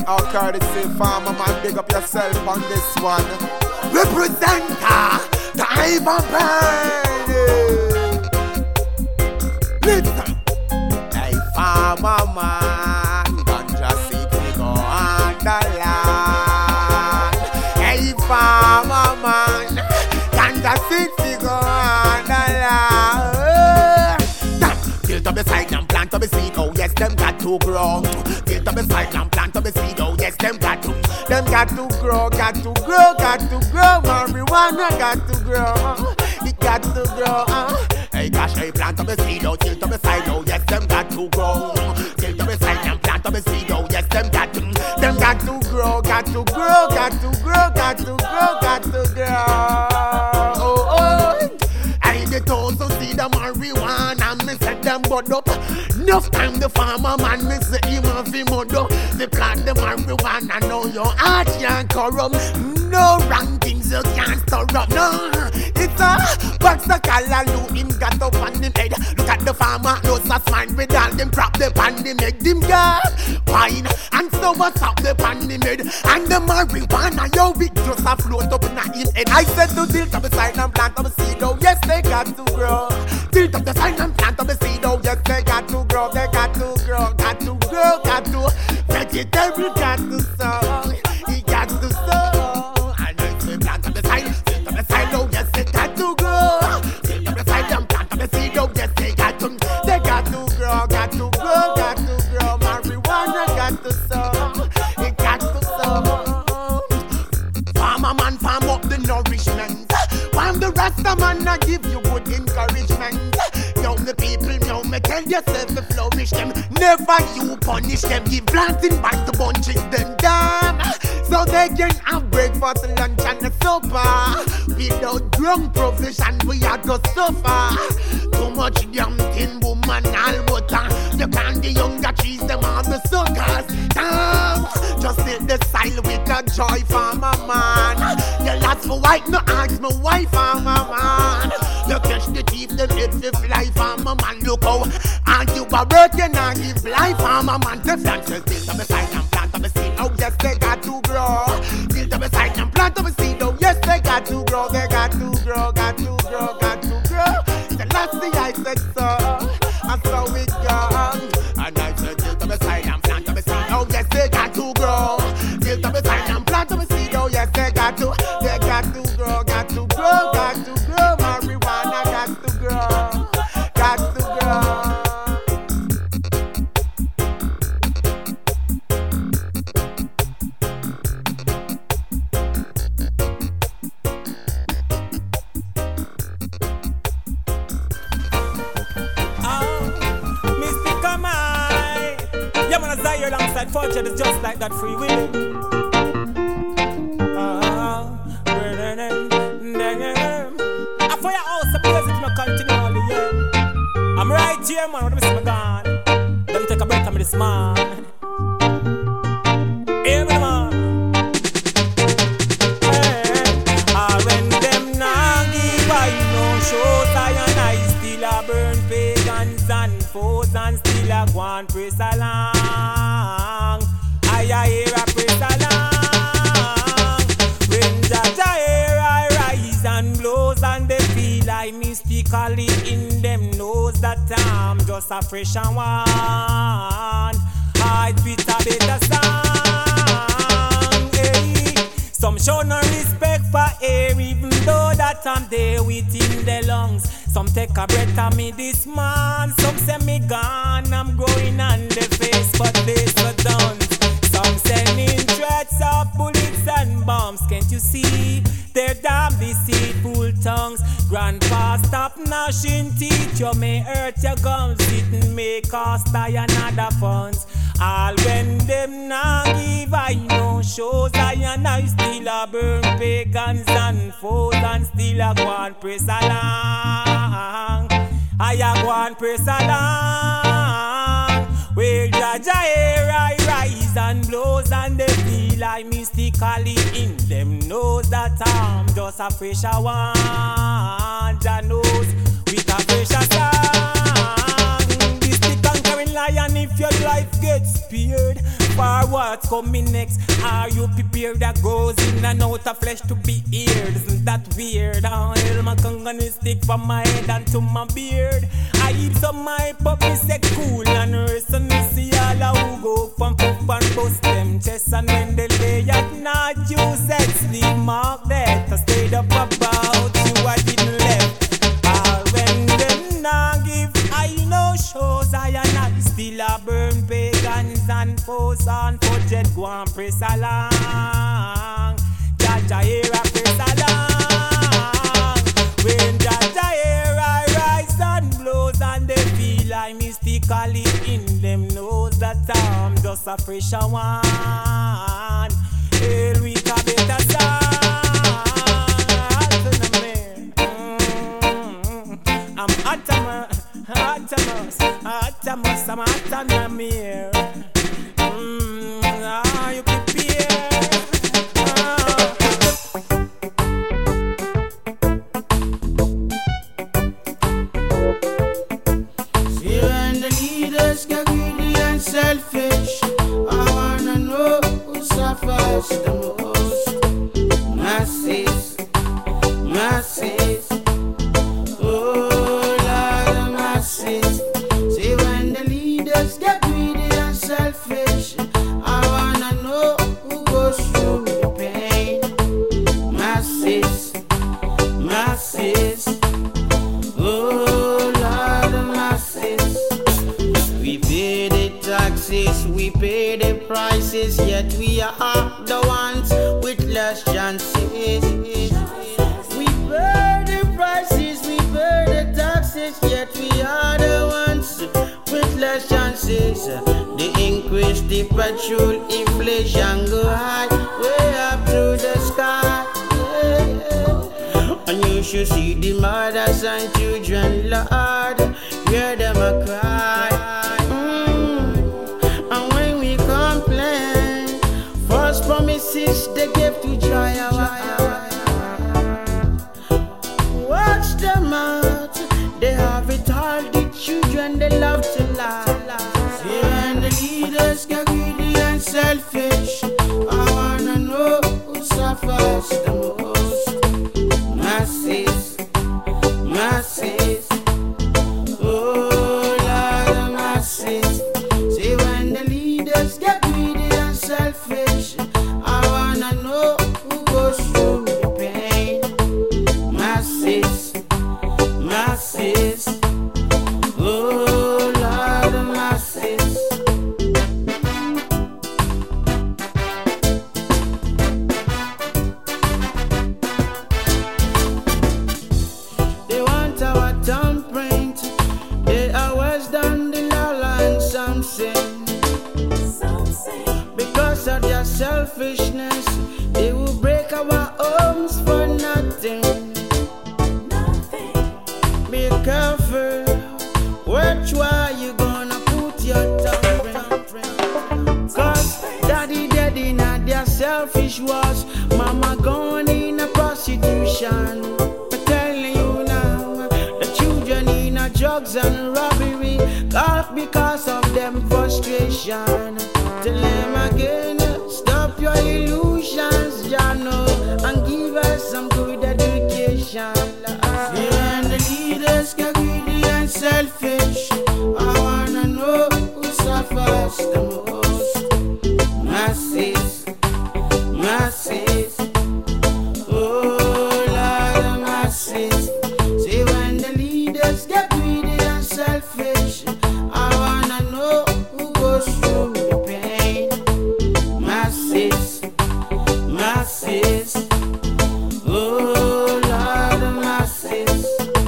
All courtesy, farmer man, big up yourself on this one. Representer, the Ivan Band. Listen. Hey, farmer man, ganja seed we go on the land. Hey, farmer man, ganja seed we go on the land. Tilt up the side and plant up the seed, oh yes, them got to grow. Tilt up the side and plant up the seed, oh yes, them got to. Them got to grow, got to grow, got to grow. Marijuana got to grow, it got to grow. Uh. Hey gosh, hey, plant up the seed, oh, tilt up the side, oh yes, them got to grow. Tilt up the side and plant up the seed, oh yes, them got to. Them got to grow, got to grow, got to grow, got to grow, got to grow. Oh, oh. I the toes of see the marijuana, me set them bud up. Enough time the farmer man, me say him have him mud up. They plant the marijuana, now your heart can't corrupt. No rankings you can't stir up, no. It's a box the callaloo him got up on him head. Look at the farmer, no such mind with all them prop the pan him make them gas wine. And so what's up the pan him head. And the marijuana, yo, it just a float up in him head. I said to tilt up the side and plant up the seed, oh yes, they got to grow. Tilt up the side and plant up the seed, oh yes, they got to grow. They got to grow, got to grow, got to. Vegetable got to sow, he got to sow. And I say plant up the side, tilt up the side, oh yes, they got to grow. Tilt up the side and plant up the seed, oh yes, they got to. They got to grow, got to grow, got to grow. Marijuana got to sow, it got to sow. Farmer man, farm up the nourishment. Farm the Rasta man, I give you good encouragement. Young the people, now me tell yourself to flourish them. Never you punish them. Give planting back the bunches them down, so they can have breakfast, lunch and a supper. Without drunk provision, we are to suffer. Too much young tin woman all butter. You can't the younger trees, them are the suckers. Damn, just hit the side with a joy, farmer man. You last for white, no ask my wife, farmer man. You catch the thief, them hit the fly, farmer man. Look how, and you are working and give life, farmer man. The flances, tilt up the side and plant up the seed, oh yes, they got to grow. Tilt up the side and plant up the seed, oh yes, they got to grow. They got to grow, got to grow, got to grow. The last thing I said so, and so it goes. And I said tilt up the side and plant up the seed, oh yes, they got to grow. Tilt up the side and plant up the seed, oh yes, they got to. They got to grow, got to grow, got to grow. Marijuana got to grow, got to grow. Alongside Fortune is just like that free will. I for your house, I praise it, I continue all the year. I'm right here, man, when I miss my gun. Let me take a break from this man. Hear me, man. Hey, I when them now give I no shows, I and I still a burn pagans and foes and still a go and praise along. I hear a praise along. When Jaja hear I rise and blows and they feel I mystically in them knows that I'm just a fresh and one. I beat a better song. Hey. Some show no respect for air even though that I'm there within the lungs. Some take a breath of me this man. Some say me gone, I'm growing on the face, but this was done. Some sending threats of bullets and bombs. Can't you see their damn deceitful tongues? Grandpa, stop gnashing teeth. You may hurt your gums. It may cost I another funds. All when them now give I no shows. I and I still a burn pagans and foes and still a go and press along. I a go and press along. Well, Jaja here I rise and blows and they feel I mystically in them knows that I'm just a fresher one. Jah knows with a fresher song. This stick and carrying like Zion, if your life gets spared, for what's coming next? Are you prepared? That goes in and out of flesh to be eared. Isn't that weird? Oh, hell, my kangan stick from my head and to my beard. I keep some my puppy say cool and rest and see all who go from puff and bust them chest. And when they lay at night, you said sleep mark that I stayed up about you, I didn't left. Or when them not give I know shows, I and I still a burn pagans and foes and budget go and press along. Jaja here a press along. When Jaja here I rise and blows and they feel I mystically in them knows that I'm just a fresher one. Hell we can better song. I'm Atamas, Atamas, Atamas, I'm Atanamir. Mmm, are you prepared? See when the leaders get greedy and selfish, I wanna know who suffers the most. Masses, masses. See when the leaders get greedy and selfish, I wanna know who goes through the pain. Masses, masses, oh Lord, the masses. We pay the taxes, we pay the prices, yet we are the ones with less chances. We pay the prices, we pay the taxes, yet we are the ones with less chances. The increase, the petrol, inflation go high, way up to the sky. Yeah. And you should see the mothers and children, Lord, hear them a cry. Mm. And when we complain, false promises they give to try our. Watch them out, they have it all, the children they love to lie. See when the leaders get greedy and selfish, I wanna know who suffers the most. Masses, masses, oh Lord, the masses. See when the leaders get greedy and selfish, I wanna know who goes through the pain. Masses, masses, oh Lord, the masses. They want our thumbprint, they always done the law and something. Because of their selfishness, they will break our homes for nothing. Be careful, which way you gonna put your thumbprint. Cause daddy dead in their selfish wars, mama gone in a prostitution. I'm telling you now, the children in a drugs and robbery, all because of them frustration. Tell them again, stop your illusions, ya know, and give us some good education. Yeah, and the leaders get greedy and selfish, I wanna know who suffers the most. Masses, masses, oh Lord, the masses. See when the leaders get greedy and selfish, I wanna know who goes through the pain. Masses, masses, oh Lord, the masses.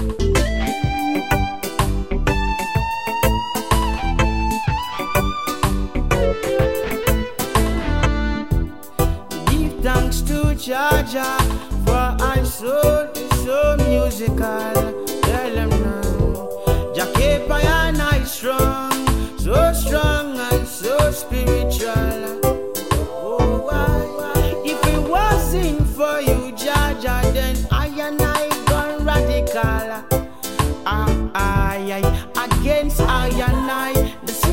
Give thanks to Jaja, for I soul is so musical. Tell them now, Jakepa and I strong, so strong and so spiritual. Oh, why? If it wasn't for you, Jaja, then I and I gone radical. I, I, I, against I and I, the system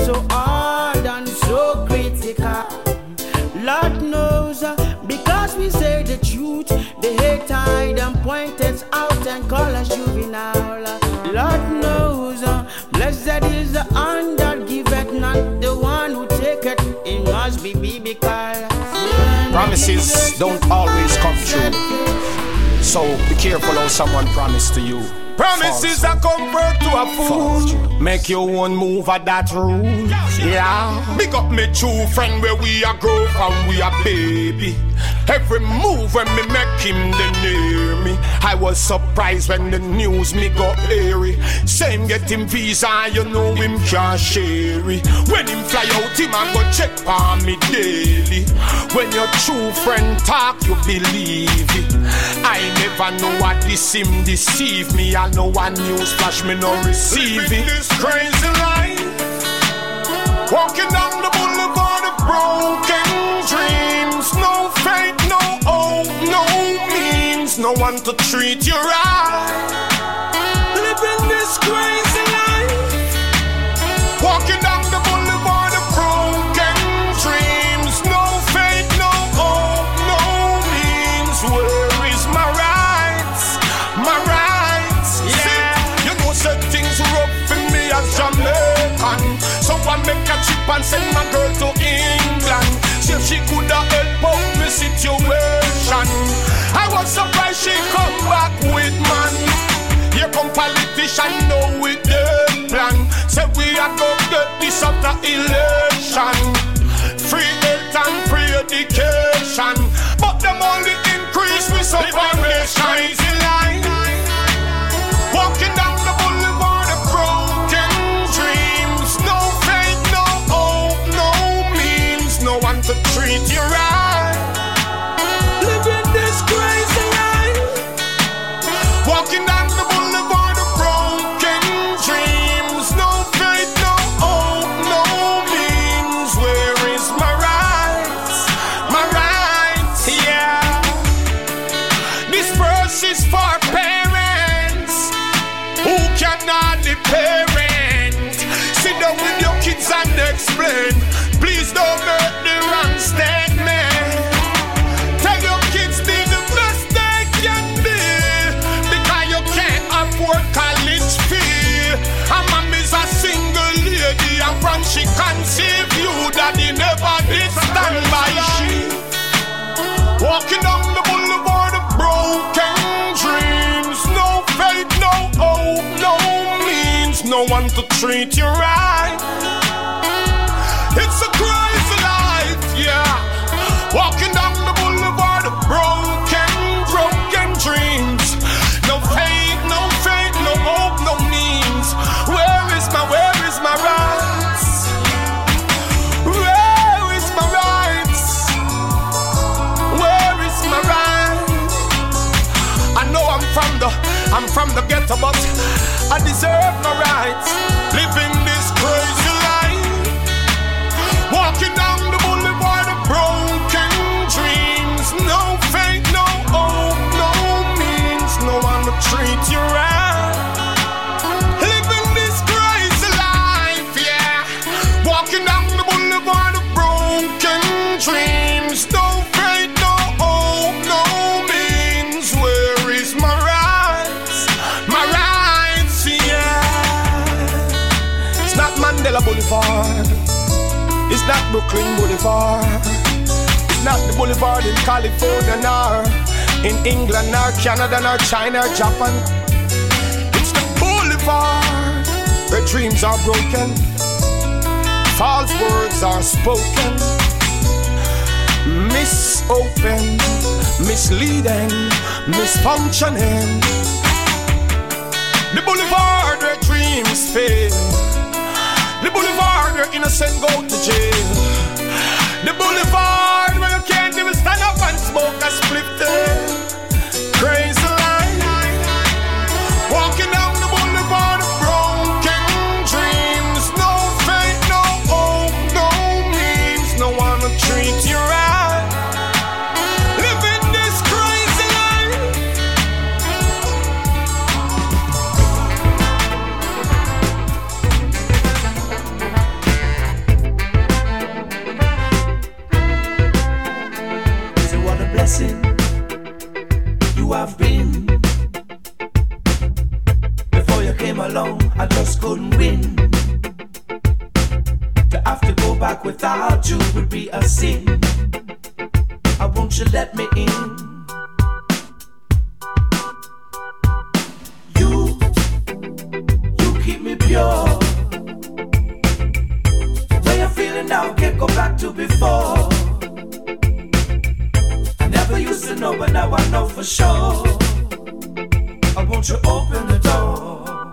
so hard and so critical. Lord knows, uh, because we say the truth, they hate hide and point us out and call us juvenile. Lord knows, uh, blessed is the hand that giveth, not the one who taketh. It must be biblical. Promises don't always come true, so be careful how someone promised to you. Promises are comfort to a fool. Make your own move at that rule. Yeah. Big up me true friend where we are grow from we are baby. Every move when me make him they near me. I was surprised when the news me got airy. Same get him visa, you know him can't share it. When him fly out, him a go check on me daily. When your true friend talk, you believe it. I never know what this him deceive me. I know one news flash me no receive it. This crazy life, walking down the boulevard of broken dreams. No faith, no hope, no means. No one to treat you right. Living this crazy life, walking down the boulevard of broken dreams. No faith, no hope, no means. Where is my rights? My rights. Yeah, you know certain things rough for me as Jamaican. So I make a trip and send my girl to England. See if she could have helped out my situation. I was surprised she come back with man. Here come politician know with them plan. Say we are gonna get this after election. Free health and free education. But them only increase with some foundation. Walking down the boulevard of broken dreams. No faith, no hope, no means. No one to treat you right. Living this crazy life. Walking down the boulevard of broken dreams. No faith, no hope, no means. Where is my rights? My rights, yeah. This verse is for parents who cannot be parent. Sit down with your kids and explain. Please don't make the wrong statement. Tell your kids be the best they can be, because you can't afford college fee. And mommy's a single lady, and from she conceived you, daddy never did stand by she. Walking down the boulevard of broken dreams. No faith, no hope, no means. No one to treat you right. It's a crazy life, yeah. Walking down the boulevard of broken, broken dreams. No faith, no faith, no hope, no means. Where is my, where is my rights? Where is my rights? Where is my rights? I know I'm from the, I'm from the ghetto, but I deserve my rights. Living this crazy life. Walking down the boulevard of broken dreams. No faith, no hope, no means. No one to treat you right. Living this crazy life, yeah. Walking down the boulevard of broken dreams. No faith, no hope, no means. Where is my rights? My rights, yeah. It's not Mandela Boulevard. It's not Brooklyn Boulevard. It's not the boulevard in California nor in England nor Canada nor China or Japan. It's the boulevard where dreams are broken, false words are spoken, misopen, misleading, misfunctioning. The boulevard where dreams fail. The boulevard where innocent go to jail. The boulevard where you can't even stand up and smoke a split tail. Crazy life. Walking down the boulevard of broken dreams. No faith, no hope, no means. No one to treat you right. Living this crazy life. win. Before you came along, I just couldn't win. To have to go back without you would be a sin. I won't you let me in? You, you keep me pure. The way I'm feeling now, can't go back to before. I never used to know, but now I know for sure. I want you open the door.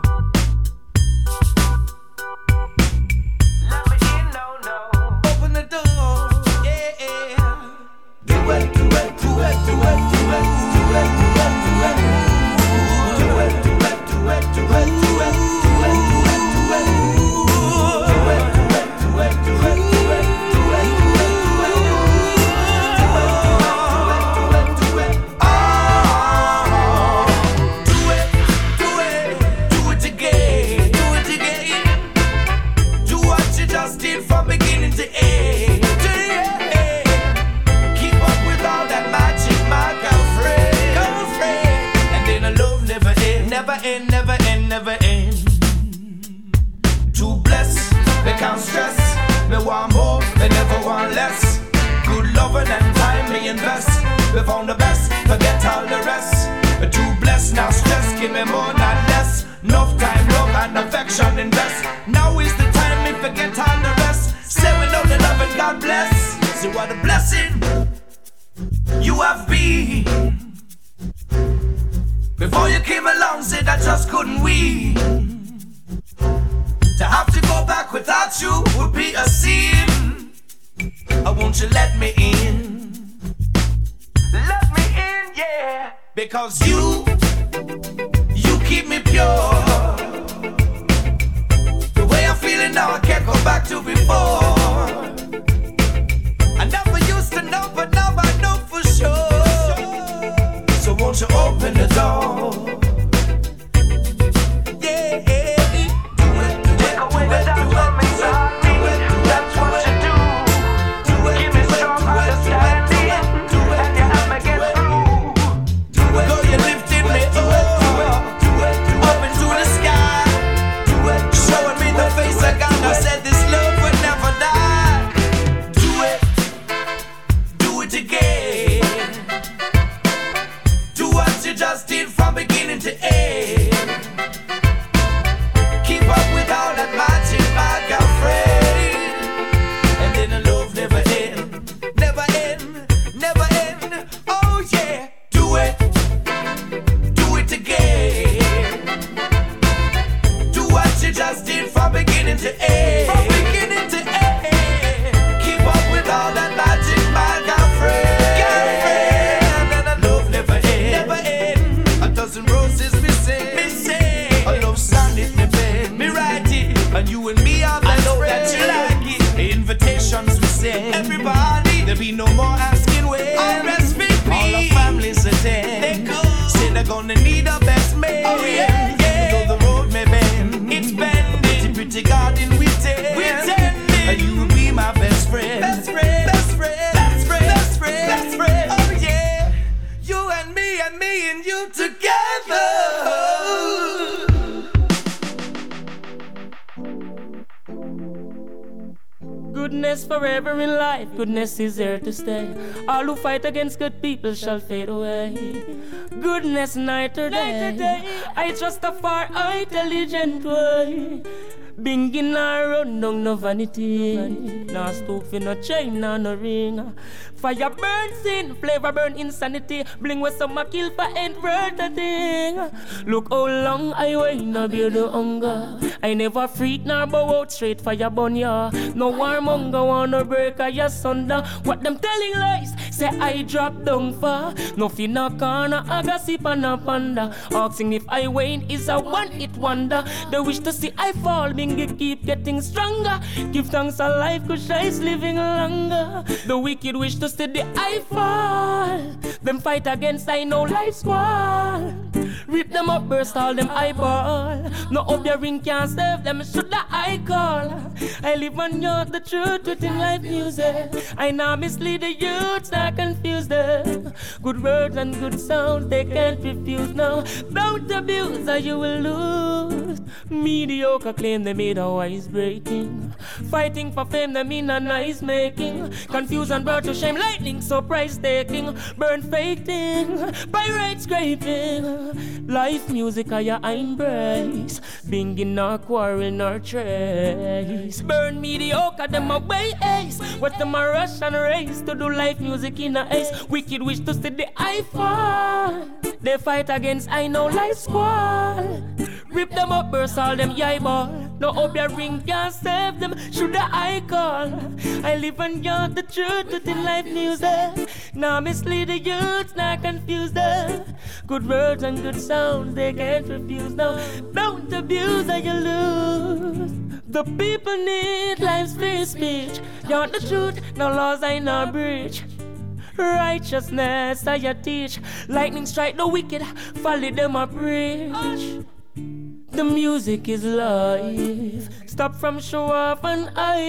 Goodness is here to stay. All who fight against good people shall fade away. Goodness night or day, I trust a far intelligent way. Binging around, no, no vanity. No stove, no chain, no, no ring. Fire burn sin, flavor burn insanity. Bling with some kill for ain't worth a thing. Look how long I wait, no bear the hunger. I never freak nor bow out straight for your bun, ya. No warmonger wanna break a your sunder. What them telling lies, say I drop down far. No fi no corner, I got sip and a panda. Asking if I wane is a one-hit wonder. They wish to see I fall, bingy keep getting stronger. Give thanks a life, cause I's living longer. The wicked wish to see the I fall. Them fight against I know life's wall. Rip them up, burst all them eyeball. No up your ring can't save them, should I call? I live on you, the truth within life music. I now mislead the youths, I confuse them. Good words and good sound, they can't refuse now. Don't abuse or you will lose. Mediocre claim they made a wise breaking. Fighting for fame, they mean a nice making. Confusion brought to shame, lightning, so price taking. Burn fake thing, pirate scraping. Life music I ya embrace. Binging nor quarrel nor trace. Burn mediocre, them away ace. What them a rush and race to do life music in a ace. Wicked wish to see the eye fall. They fight against I know life squall. Rip them up, burst all them eyeball. No hope your ring can't save them, should I call? I live and got the truth within life music. Now mislead the youths, not confuse them. Good words and good sounds, they can't refuse. No, don't abuse or you lose. The people need life's free speech. You want the truth, no laws I no breach. Righteousness I ya teach. Lightning strike the wicked, follow them a preach. The music is life. Stop from show off and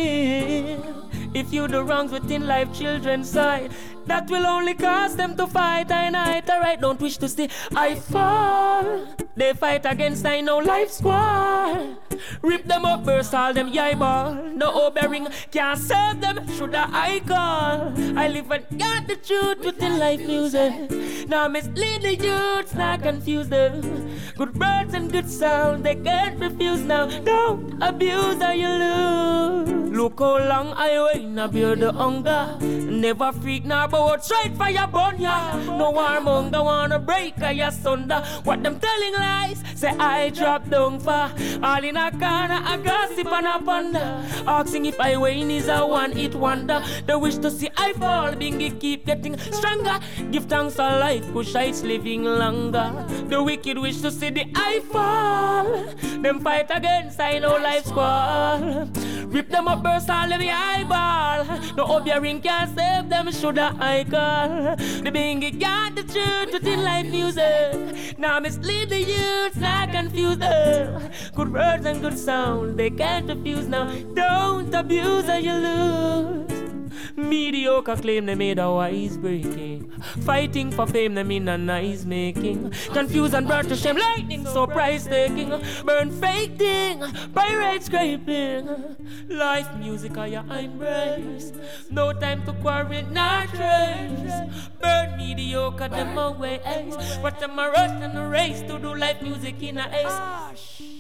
I. If you do wrongs within life, children's side, that will only cause them to fight I night. Alright, don't wish to see I fall. They fight against I know life squall. Rip them up, burst all them eyeball. No bearing can't save them, should I call? I live and got the truth within life music. Now mislead the youths, not confuse them. Good words and good sound, they can't refuse now. Don't abuse or you lose. Look how long I wait, now bear the hunger. Never freak nor bow straight for your bun ya. No warmonger wanna break or your sunder. What them telling lies, say I drop down for. All in a corner, a gossip and a ponder. Asking if I win is a one-hit wonder. The wish to see I fall, bingy keep getting stronger. Give thanks for life, Kushites living longer. The wicked wish to see the I fall. Them fight against I know life squall. Rip them up, burst all of the eyeball. No hope your ring can't save them, should I call? The bingy got the truth within life music. Now mislead the youths, not confuse them. Good words and good sound, they can't refuse now. Don't abuse or you lose. Mediocre claim they made a wise breaking. Fighting for fame they mean a nice making. Confused and brought to shame, lightning so price taking. Burn fake thing, pirate scraping. Life music I embrace. No time to quarrel, not trace. Burn mediocre them away ace. But them a rush and a race to do life music in a ace.